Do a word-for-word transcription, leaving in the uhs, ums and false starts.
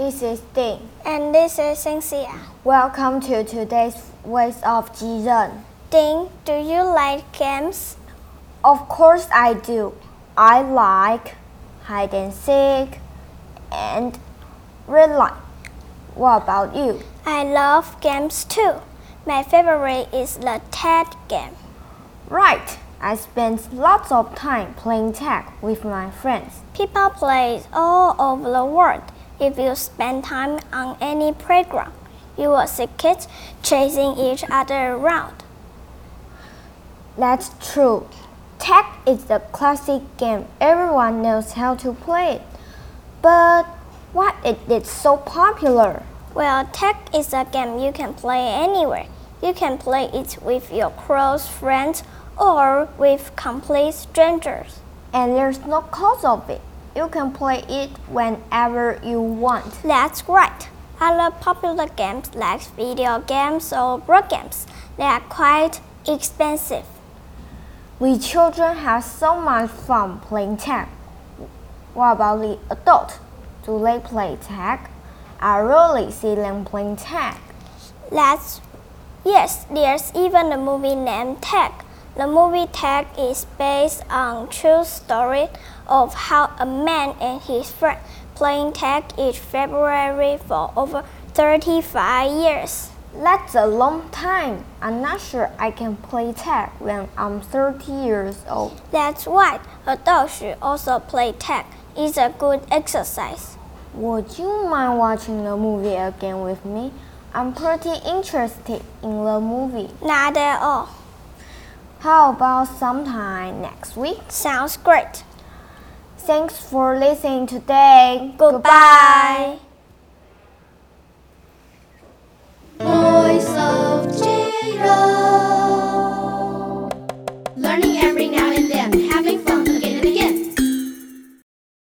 This is Ding. And this is Cynthia. Welcome to today's Voice of Jiren. Ding, do you like games? Of course I do. I like hide and seek and red light. What about you? I love games too. My favorite is the tag game. Right. I spend lots of time playing tag with my friends. People play it all over the world. If you spend time on any playground, you will see kids chasing each other around. That's true. Tag is the classic game. Everyone knows how to play it. But why is it so popular? Well, tag is a game you can play anywhere. You can play it with your close friends or with complete strangers. And there's no cost of it. You can play it whenever you want. That's right. Other popular games like video games or board games, they are quite expensive. We children have so much fun playing tag. What about the adults? Do they play tag? I rarely see them playing tag. That's yes, there's even a movie named Tag. The movie Tag is based on true story of how a man and his friend playing tag each February for over thirty-five years. That's a long time. I'm not sure I can play tag when I'm thirty years old. That's right. Adults should also play tag. It's a good exercise. Would you mind watching the movie again with me? I'm pretty interested in the movie. Not at all. How about sometime next week? Sounds great. Thanks for listening today. Goodbye.